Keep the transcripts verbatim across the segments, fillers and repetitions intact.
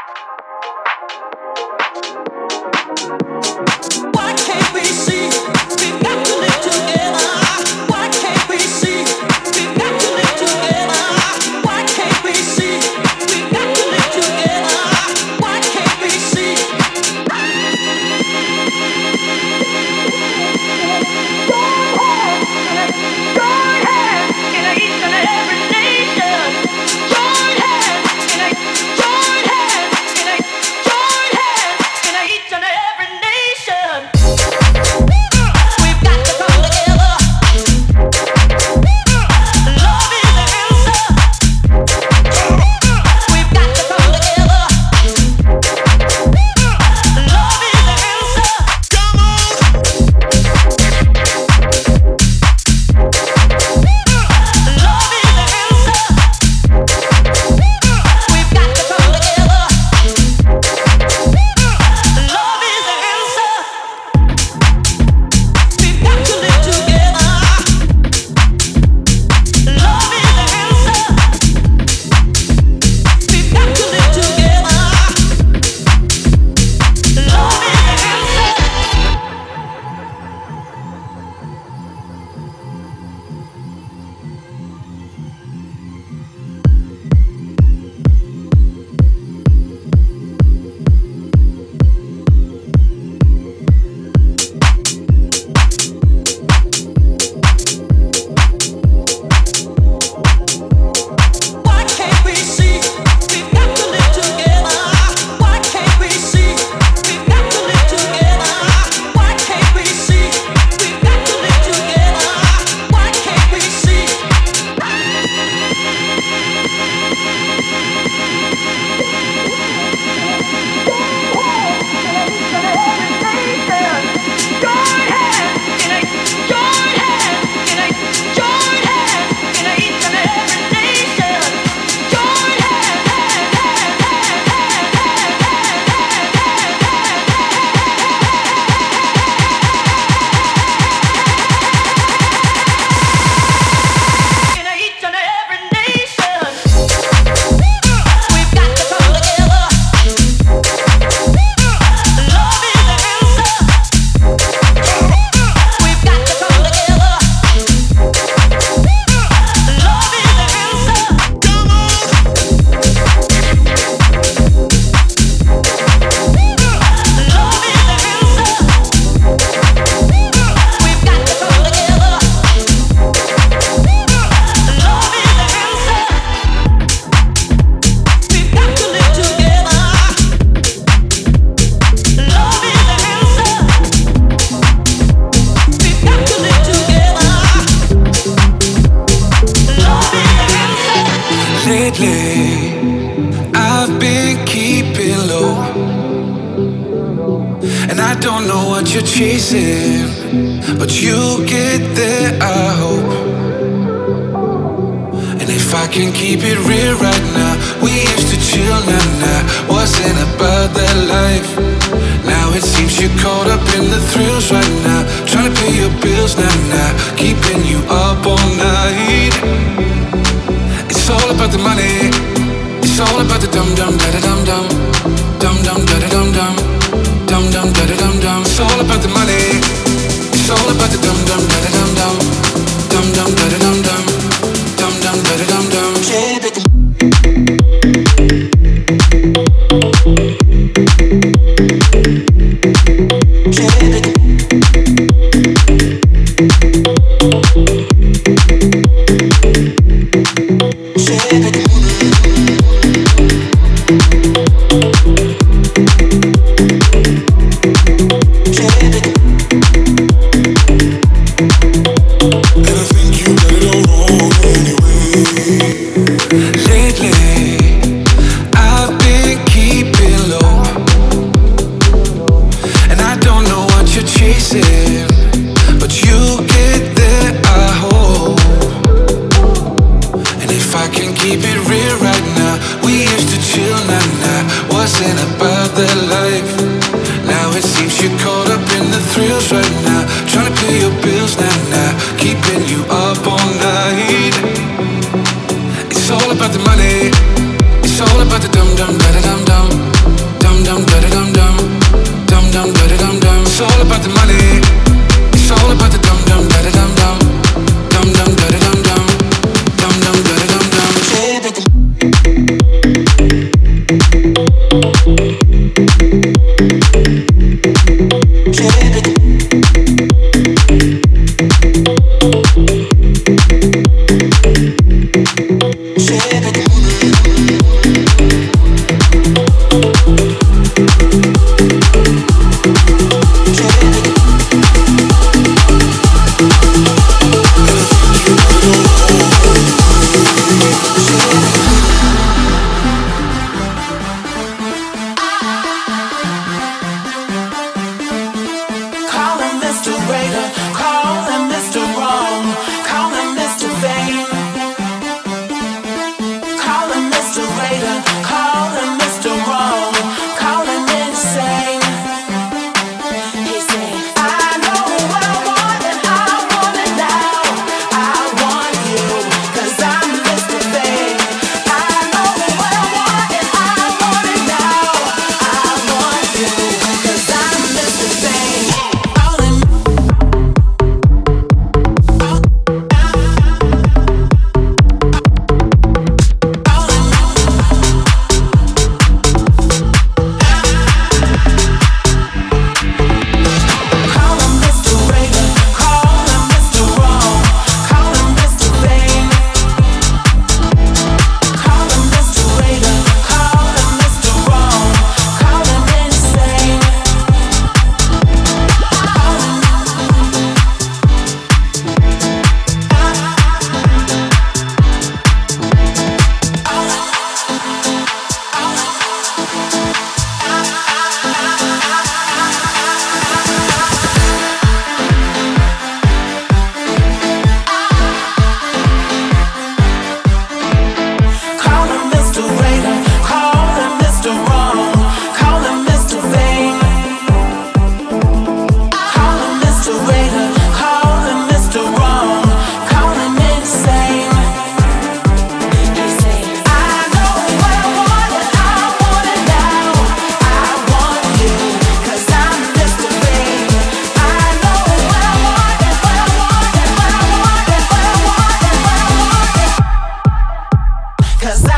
It's all about the money. It's all about the dum dum da da dum dum.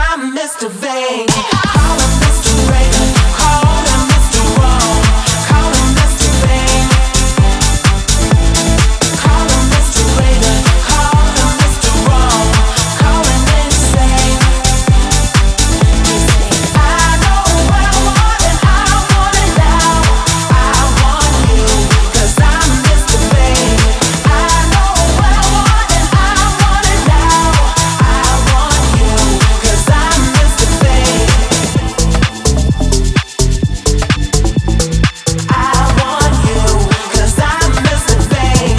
I'm Mister Vain. Call him Mister Raven, call him Mister Wrong, call him Mister Vain. Call him Mister Raven, call him Mister Wrong, call him insane. I know what I want and I want it now. I want you, 'cause I'm Mister Vain. I know what I want and I want it now. I want you, 'cause I'm Mister Vain. I want you, 'cause I'm Mister Vain.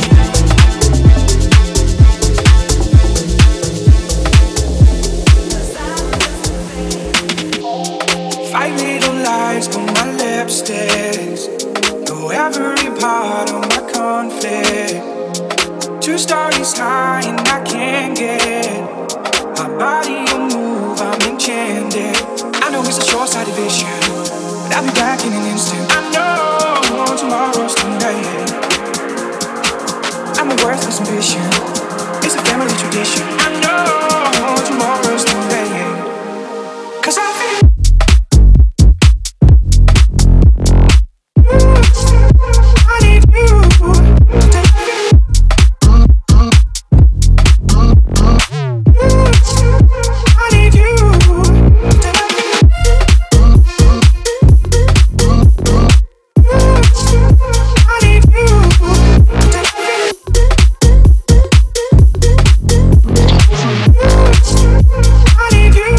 Five little lies, but my lipsticks know every part of my conflict. Two stories high and I can't get my body will move, I'm enchanted. I know it's a short-sighted vision, but I'll be back in an instant. I know tomorrow's too late. I'm a worthless ambition, it's a family tradition. I know tomorrow's too late, 'cause I feel I need you. I need you. I need you. I need you.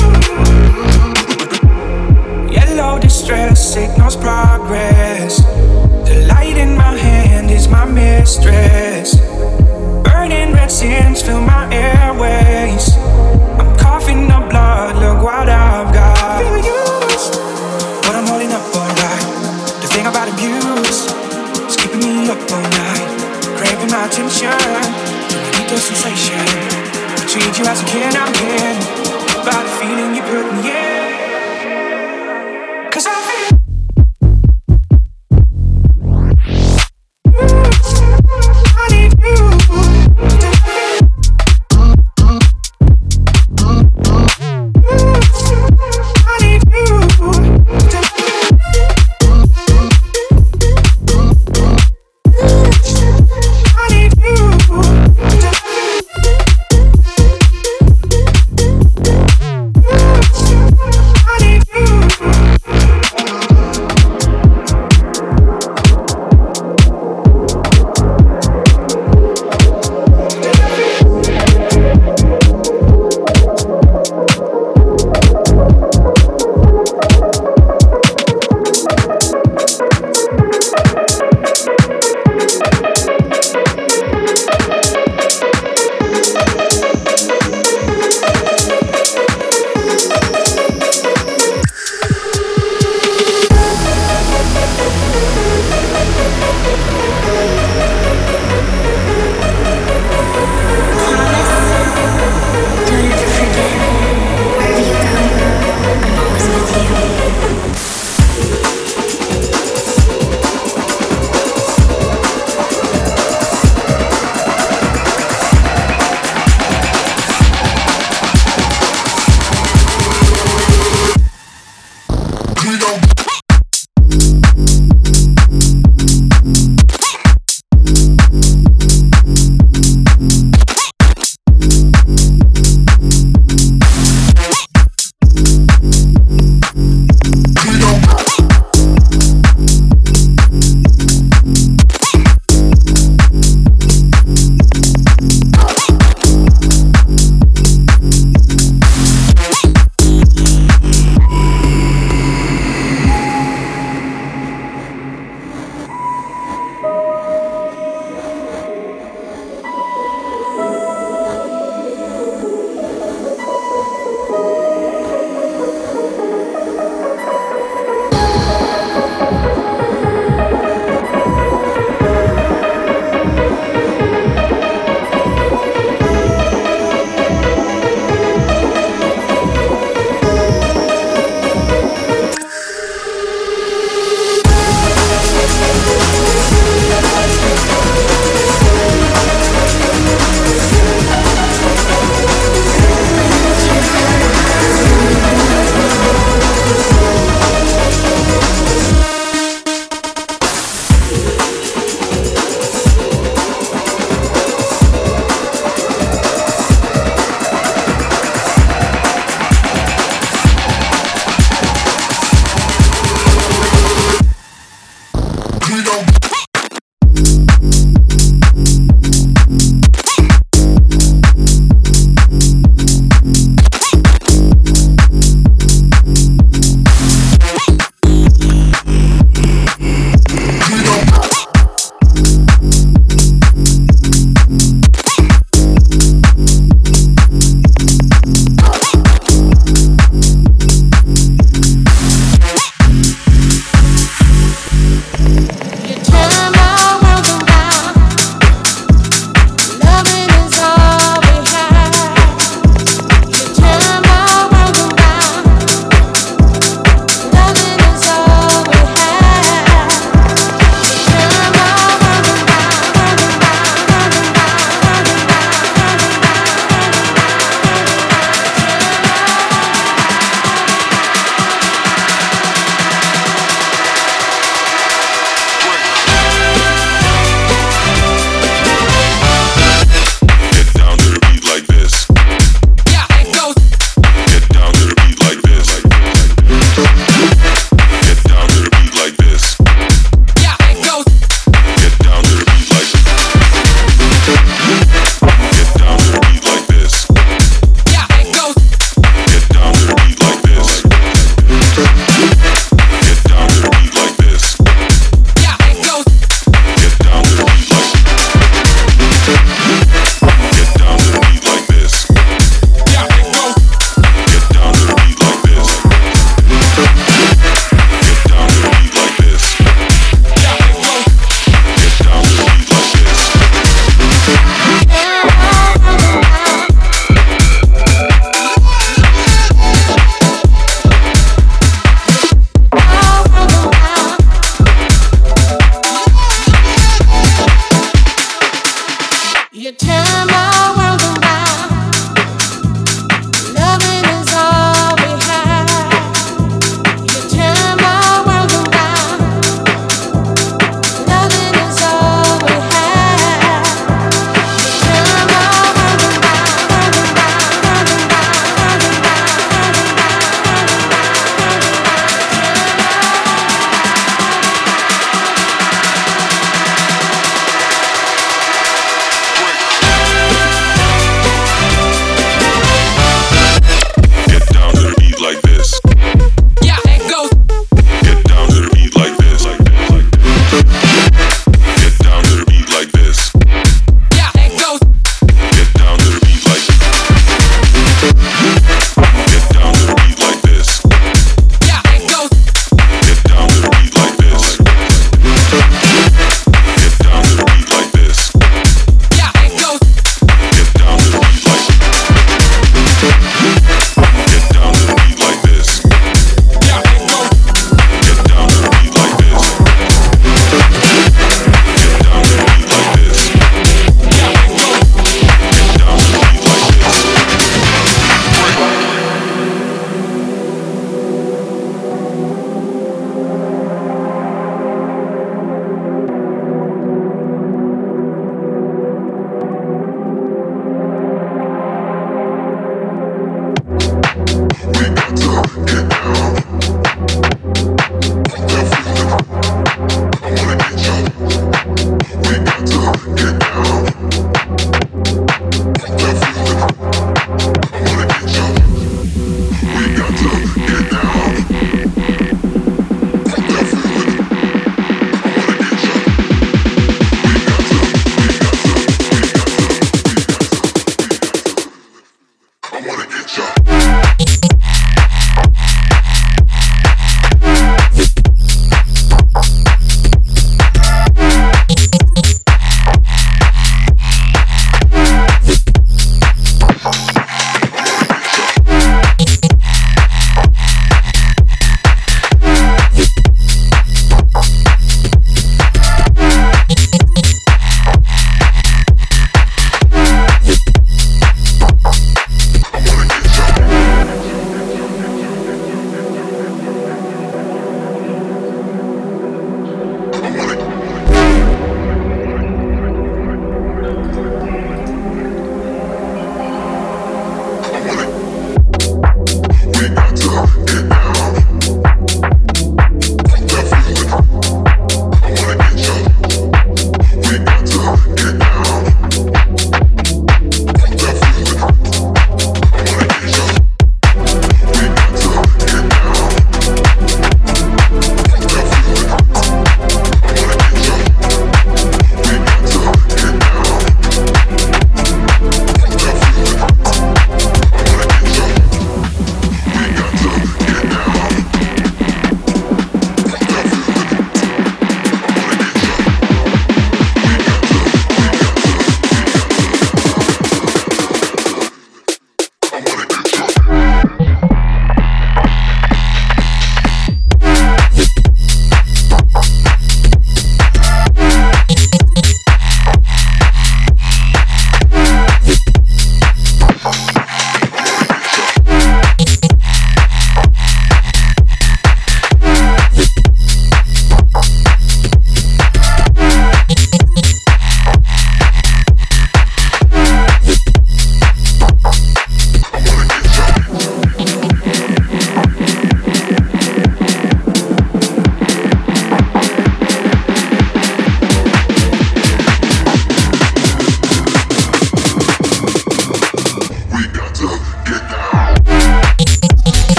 Yellow distress signals progress. The light in my hand is my mistress. Burning red sins fill my airways. I'm coughing up blood, look what I've got. Feel used, but I'm holding up alright. The thing about abuse is keeping me up all night, craving my attention. Do I need the sensation? I treat you as a kin, I'm kin. By the feeling you put me in, 'cause I feel I need you. I need you. I need I need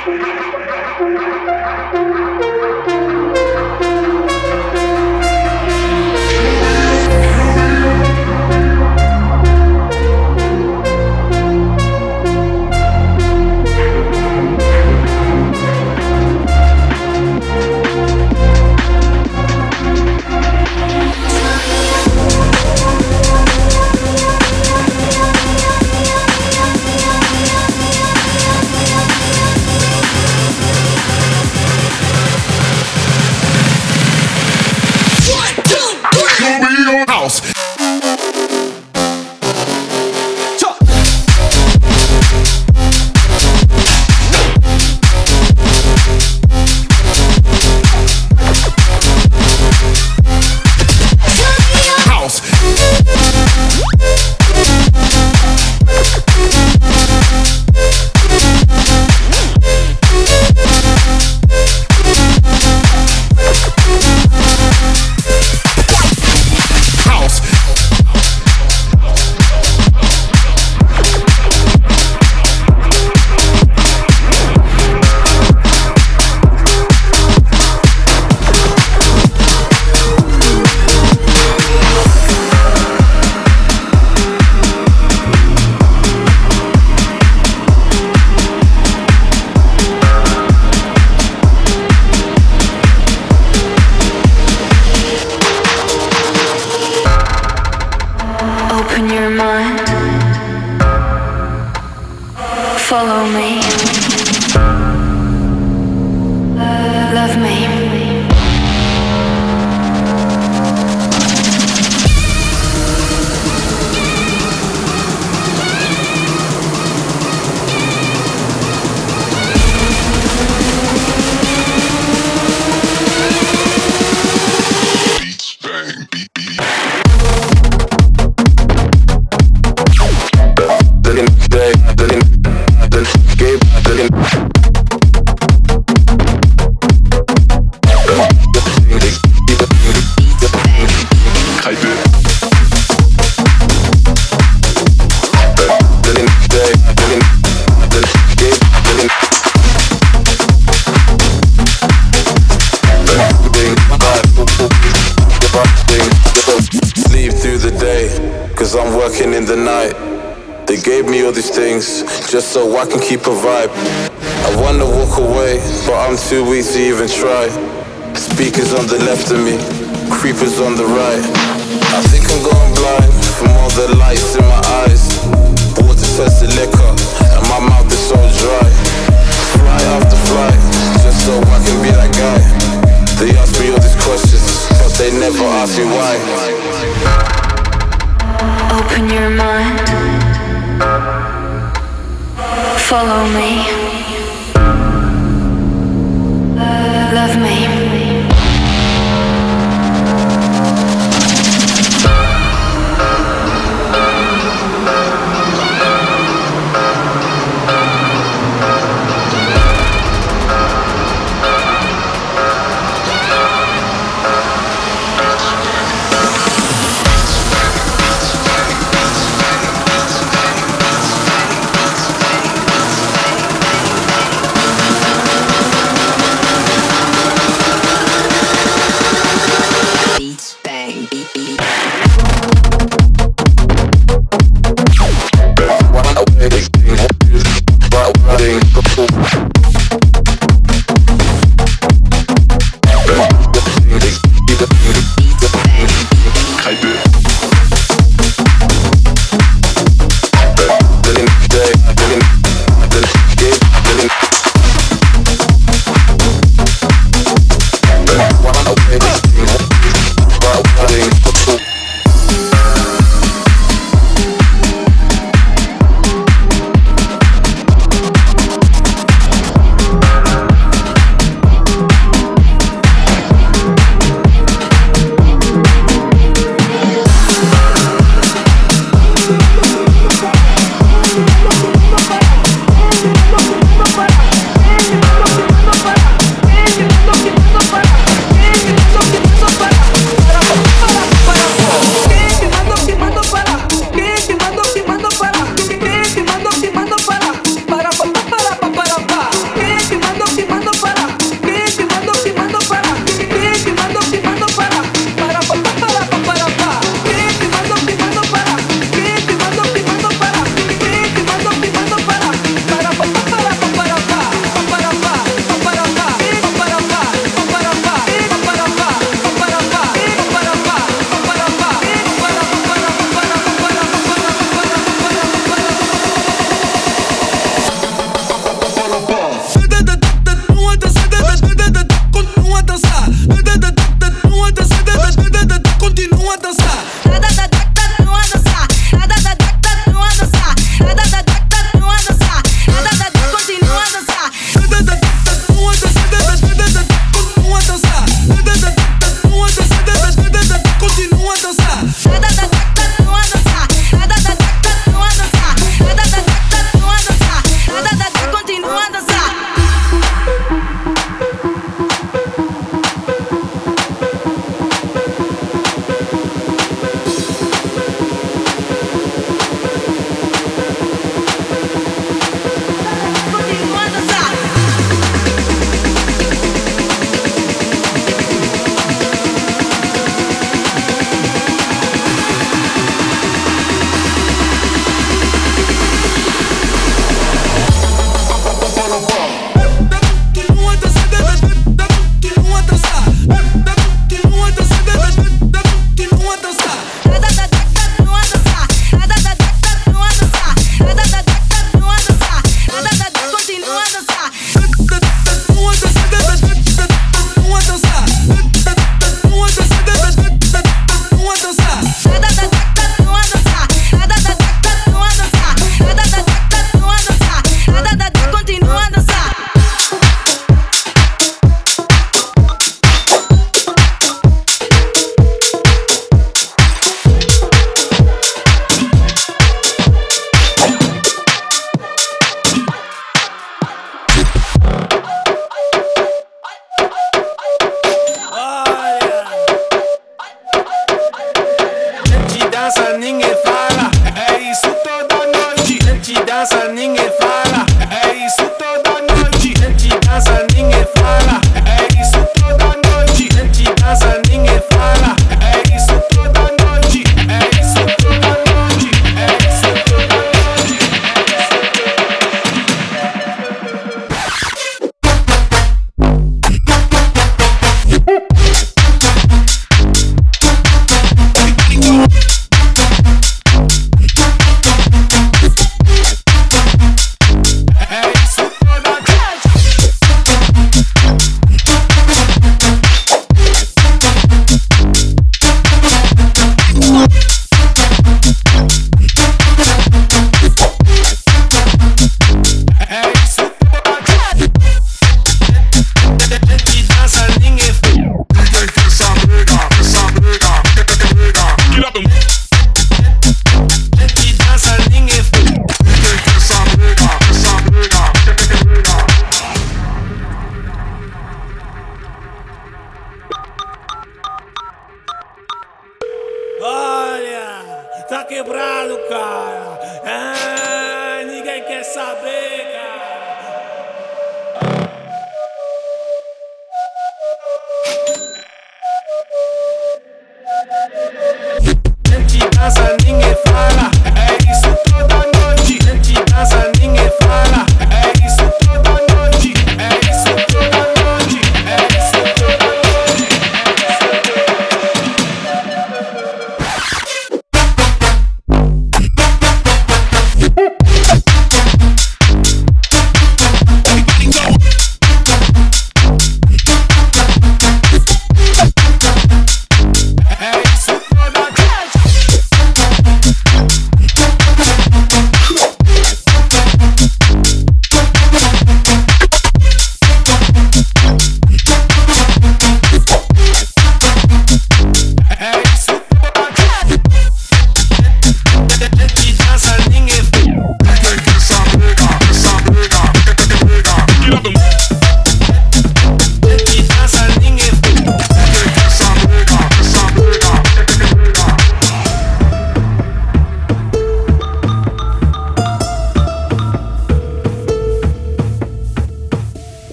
Just so I can keep a vibe. I wanna walk away, but I'm too weak to even try. Speakers on the left of me, creepers on the right. I think I'm going blind from all the lights in my eyes. Water turns to liquor, and my mouth is so dry. Fly after flight, just so I can be that guy. They ask me all these questions, but they never ask me why. Open your mind. Follow me. Love me.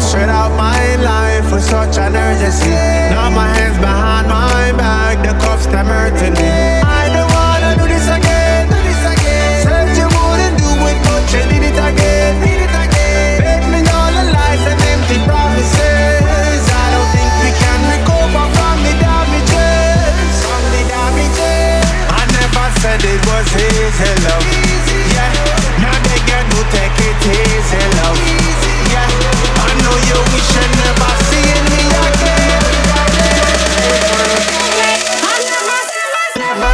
straight out my life with such an urgency. Now my hands behind my back, the cuffs them hurting me. I don't wanna do this again, do this again. Said you wouldn't do it, but you did it again, did it again. Fed me all the lies and empty promises. I don't think we can recover from the damages, from the damages. I never said it was easy, love. Yeah, now they get to take it easy, love. Yeah, I know you wish you never seen me again. I never, never,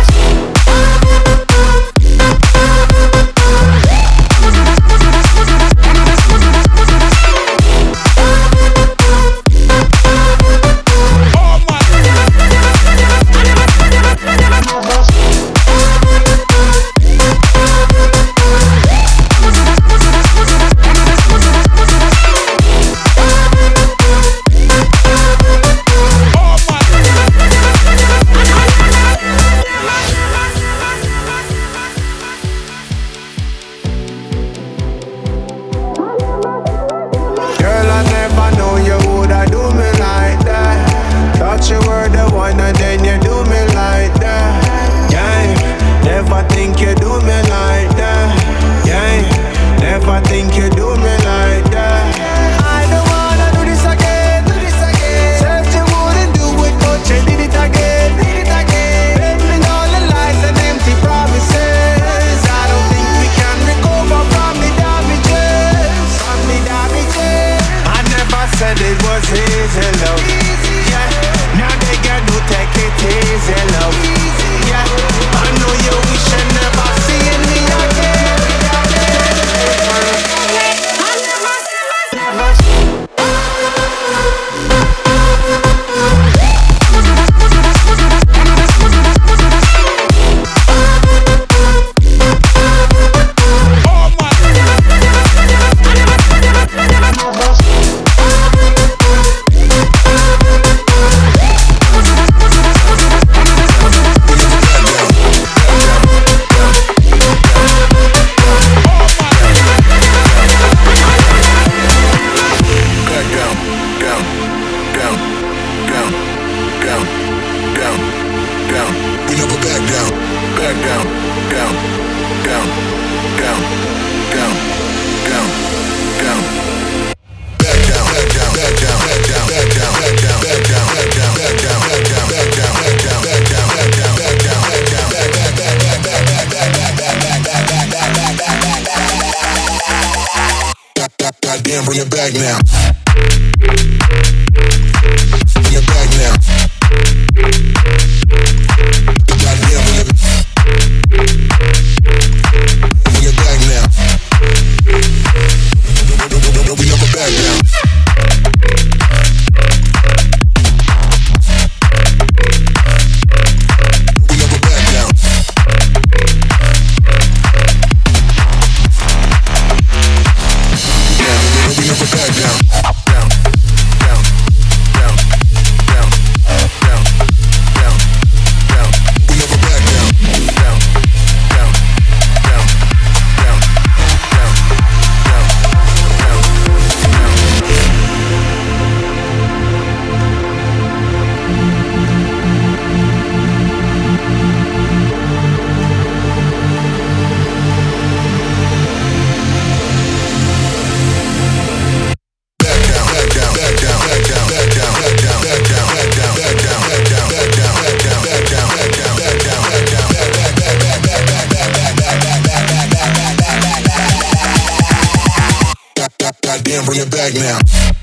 bring it back now.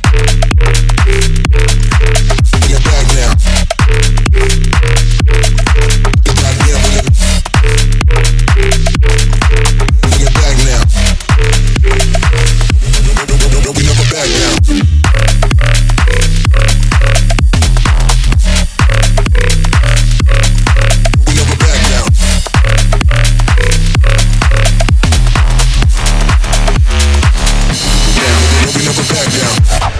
Bring it back now. Goddamn, bring it. Bring it back now. Don't be never back now. We never back down. Down, we never back down.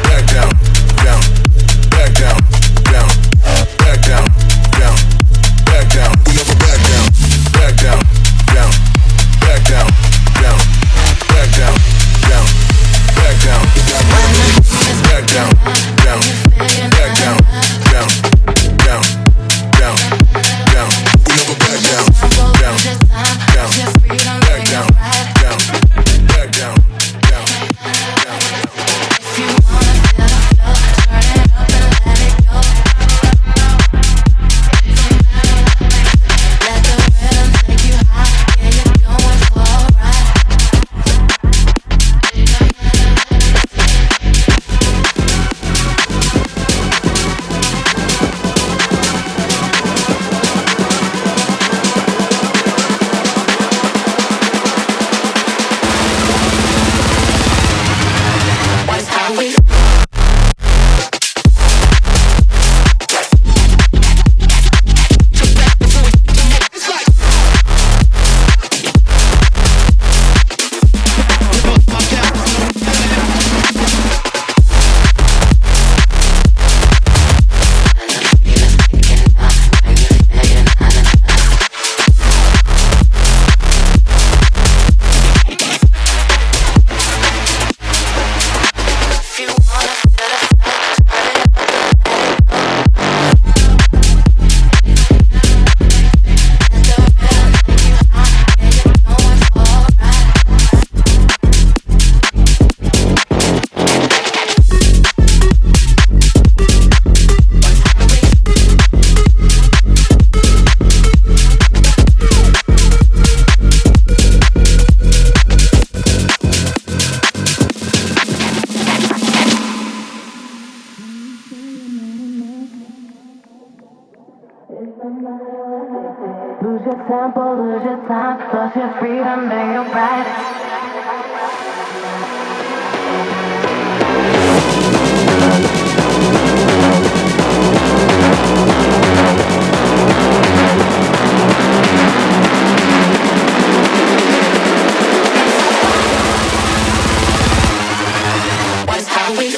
Lose your tempo, lose your time, lost your freedom and your pride. What's happening?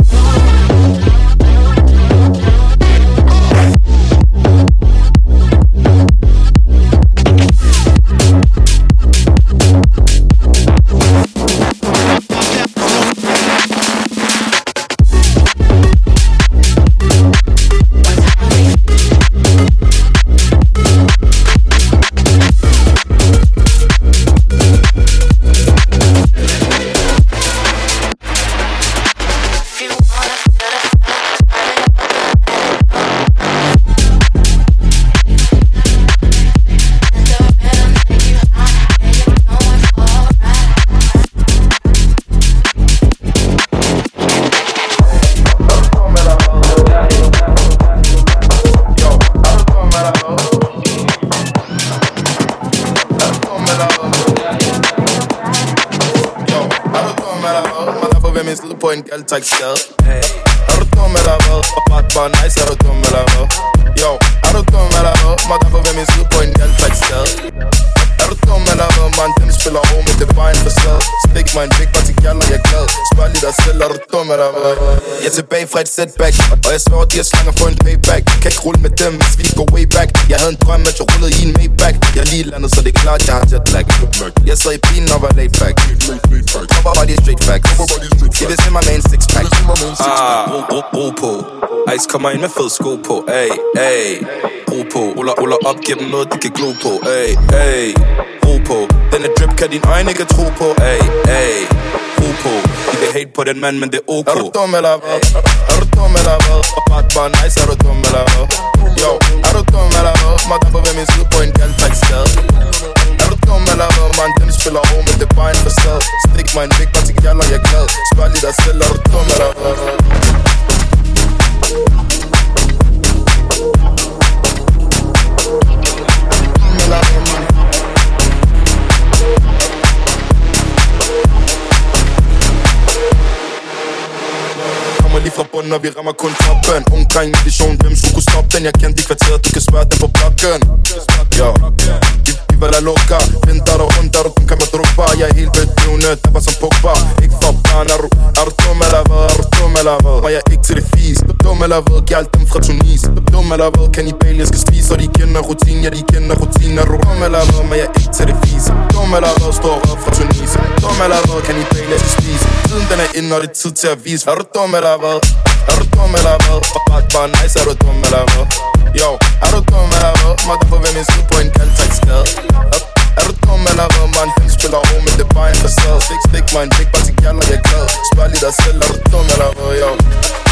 på en galdtagsgade. Er du dum eller hvad? Og bare bare nice, er du dum eller hvad? Yo, er du dum eller hvad? Må derfor ved min side på en galdtagsgade. Er du dum eller hvad, man? Dem spiller over med det bare en facade. Stik mig en big bar til gælder, jeg er glad. Spørg lige dig selv, er du dum eller hvad? Jeg er tilbage fra et setback, og jeg svær, de her slanger for en payback. Kan ikke rulle med dem, hvis vi går way back. Jeg havde en drøm, at jeg rullede i en Maybach. Jeg er lige landet, så det er klart, jeg har jetlag. Jeg sad i bilen og var laid back. Kopper var de straight facts. De vil se mig med en six pack. Ah, ro, ro, ro på. Ice kommer ind med fed sko på. Ay, ay. Ro på. Ruller, ruller op, giver dem noget, de kan glo på. Ay, ay. Ro på. Denne drip kan din øjne ikke tro på. Ay, ay. Ro på. De vil hate på den mand, men det er ok. Er du dum eller hvad? Er du dum eller hvad? Og bare bare nice, er du dum eller hvad? Yo, er du dum eller hvad? Må derfor ved min side på en galdtagsgade. Er du dum eller hvad, man? Dem spiller over med det bare en facade. Stik mig en big bar til gælder, jeg er glad. Spørg lige dig selv, er du dum eller hvad? Lige fra bunden, og vi rammer kun toppen. Omkring mission, hvem skulle kunne stoppe den? Jeg kendte de kvarterer, du kan spørge dem på blokken. Yo, vi var la loca. Venter og rundt, og kun kan man drukke bare. Jeg er helt bedøvende, der var som Pogba. Ikke for barn, er du, er du dum eller hvad? Er du dum eller hvad? Og jeg er ikke til det fis. Dum eller hvad? Giv alt dem fra Tunis. Dum eller hvad? Kan I bale, jeg skal spise. Og de kender rutin, ja de kender rutin. Er du dum eller hvad? Men jeg er ikke til det fis. Dum eller hvad? Står rød fra Tunis. Dum eller hvad? Kan I bale, jeg skal spise. Tiden den er inde, og det er tid til at vise. Er du dum eller hvad? Er du dum eller hvad? Og bare bare nice, er du dum eller hvad? Yo, er du dum eller hvad? Må derfor ved min side på en galdtagsgade. Er du dum eller hvad, man? Dem spiller over med det bare en facade. Stik, stik mig en big bar til gælder, jeg er glad. Spørg lige dig selv, er du dum eller hvad? Yo.